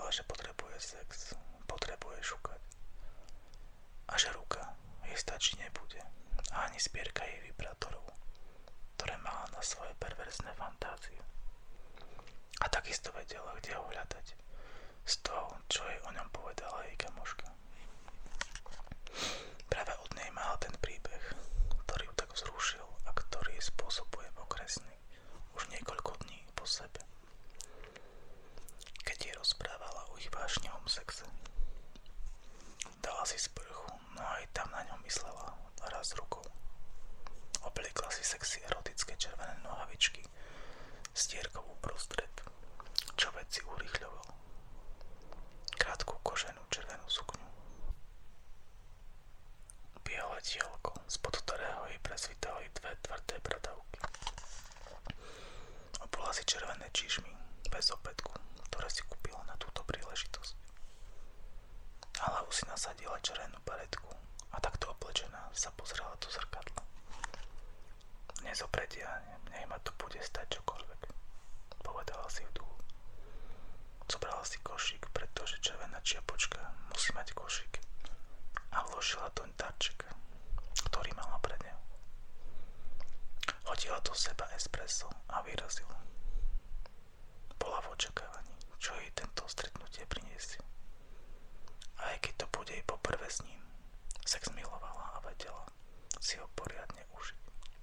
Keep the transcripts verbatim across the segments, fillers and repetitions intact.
vedela, že potrebuje sex, potrebuje šukať. A že ruka jej stačiť nebude. A ani zbierka jej vibrátorov, ktoré mala na svoje perverzné fantázie. A takisto vedela, kde ho hľadať. Z toho, čo jej o ňom povedala jej kamoška. Práve od nej mala ten príbeh, ktorý ju tak vzrušil a ktorý jej spôsobuje okresný už niekoľko dní po sebe. Keď jej rozprávala o ich vášnivom sexe. Dala si sprchu, no aj tam na ňom myslela raz rukou. Obliekla si sexy erotické červené nohavičky s dierkou uprostred, čo veci urýchľoval. Krátku koženú červenú sukňu. Biele tielko, spod ktorého jej presvítali dve tvrdé bradavky. Obula si červené čižmy bez opätku, ktoré si kúpila na túto príležitosť. Na hlavu si nasadila červenú baretku a takto oblečená sa pozrela do zrkadla. Nezopredia, nech ma to bude stať čokoľvek, povedala si v duchu. Zobrala si košík, pretože červená čiapočka musí mať košík a vložila doň darček, ktorý mala pred ňou. Hodila do seba espresso a vyrazila. Bola v očakávaní, čo jej tento stretnutie priniesie. A aj keď to bude jej poprvé s ním, sex milovala a vedela si ho poriadne užiť.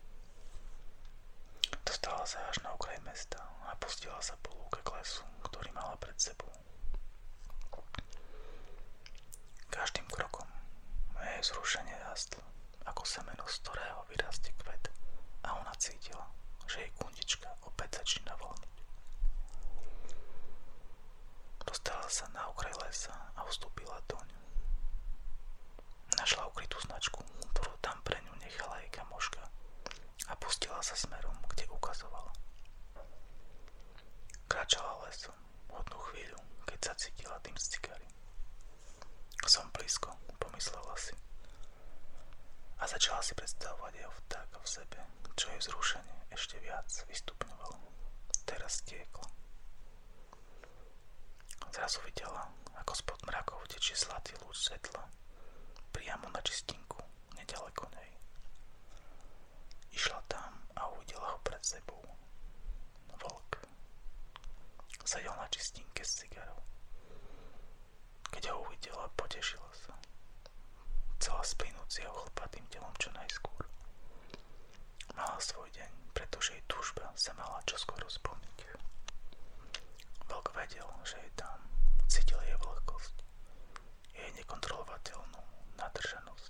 Dostala sa až na okraj mesta a pustila sa po lúke k lesu, ktorý mala pred sebou. Každým krokom jej zrušenie rastlo, ako semeno, z ktorého vyrastie kvet, a ona cítila, že jej kundička opäť začína voľniť. Dostala sa na okraj lesa a vstúpila doň. Našla ukrytú značku, ktorú tam pre ňu nechala jej kamoška, a pustila sa smerom, kde ukazovala. Kráčala lesom hodnú chvíľu, keď zacítila dym z cigary. Som blízko, pomyslela si. A začala si predstavovať jeho vtáka v sebe, čo jej vzrušenie ešte viac vystupňovalo. Teraz tieklo. Zrazu videla, ako spod mrakov tečie zlatý lúč svetla priamo na čistinku, nedaleko nej. Išla tam a uvidela ho pred sebou. Vlk. Sedel na čistinke s cigarou. Keď ho uvidela, potešila sa. Chcela splynúť s jeho chlpatým telom čo najskôr. Mala svoj deň, pretože jej túžba sa mala čoskoro splniť. Vlk vedel, že je tam. Cítil jej vlhkosť. Jej nekontrolovateľnú nadržanosť.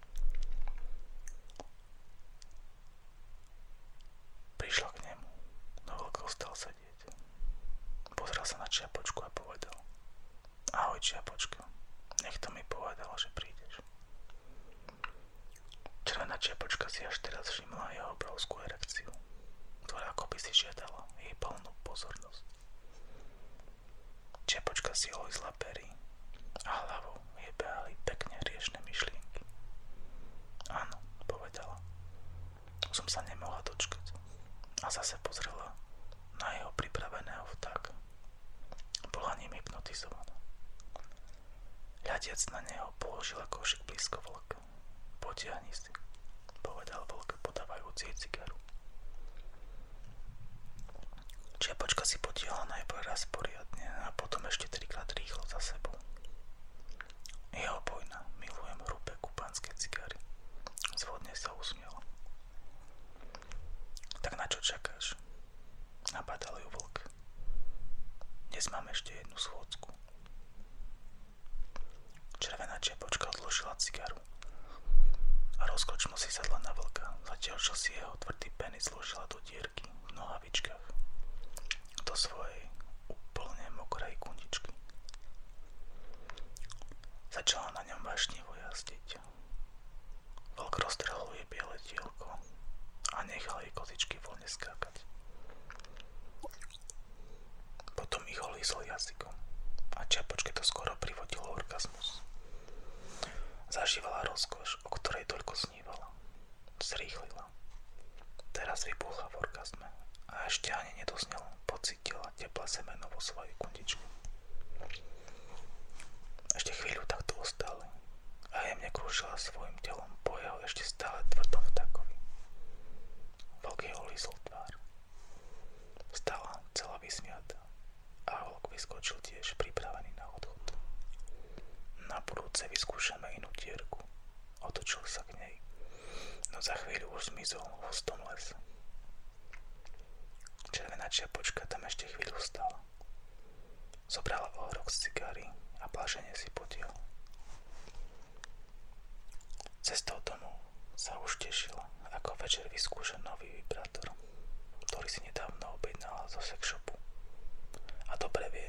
Prišla k nemu, no vlk ostal sedieť. Pozrel sa na čiapočku a povedal: Ahoj, čiapočka, niekto mi povedal, že prídeš. Červená čiapočka si až teraz všimla jeho obrovskú erekciu, ktorá akoby si žiadala jej plnú pozornosť. Čiapočka si olizla pery a hlavou jej behali pekne riešne myšlienky. Áno, povedala. Som sa nemohla dočkať. A zase pozrela na jeho pripraveného vtáka. Bola ním hypnotizovaná. Hľadiac na neho položila košík blízko vlka. Potiahni si, povedal vlk, podávajúc jej cigaru. Čiapočka si potiahla najprv raz poriadne a potom ešte trikrát rýchlo za sebou. Jeho bojna, milujem hrubé kubanské cigary. Zvodne sa usmiela. Tak na čo čakáš? Napadal ju vlk. Dnes mám ešte jednu schôdzku. Červená čiapočka odložila cigaru a rozkočno si sadla na vlka, zatiaľ čo si jeho tvrdý penis zložila do dierky v nohavičkách do svojej úplne mokrej kundičky. Začala na ňom vášnivo jazdiť. Vlk roztrhol jej biele tielko a nechal jej kozičky voľne skákať. Potom ich olízol jazykom a čiapočke to skoro privodilo orgazmus. Zažívala rozkoš, o ktorej toľko snívala. Zrýchlila. Teraz vybuchla v orgazme a ešte ani nedoznelo, pocítila teplé semeno vo svojej kundičke. Ešte chvíľu takto ostali a jemne krúžila svojim telom po jeho ešte stále tvrdom vtákovi. Vlk jeho lízol tvár. Stala celá vysmiatá a vlk vyskočil tiež pripravený na odchod. Na budúce vyskúšame inú dierku. Otočil sa k nej, no za chvíľu už zmizol v hustom lese. Červená čiapočka tam ešte chvíľu stala. Zobrala ohrok z cigary a blažene si podiel. Cestou domov sa už tešila, ako večer vyskúša nový vibrátor, ktorý si nedávno objednala zo sex shopu. A dobre vie,